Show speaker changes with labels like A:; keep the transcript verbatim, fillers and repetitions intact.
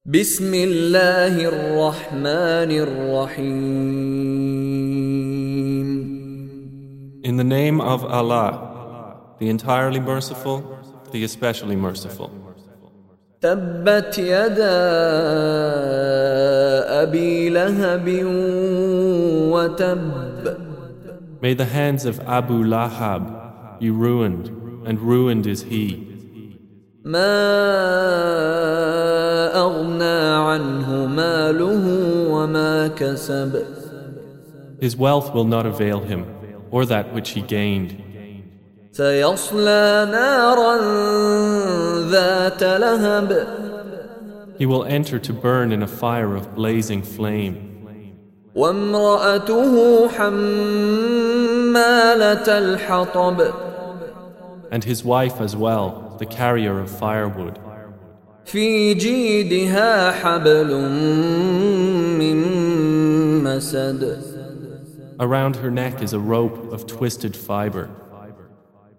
A: بسم الله الرحمن الرحيم.
B: In the name of Allah, the entirely merciful, the especially merciful.
A: تبت يدا أبي لهب وتب.
B: May the hands of Abu Lahab be ruined, and ruined is he.
A: ما أغنى عنه ماله وما كسب.
B: His wealth will not avail him, or that which he gained.
A: سيصلى نارا ذات لهب.
B: He will enter to burn in a fire of blazing flame.
A: وامرأته حمالة الحطب.
B: And his wife as well, the carrier of firewood.
A: في جيدها حبل من مسد.
B: Around her neck is a rope of twisted fiber.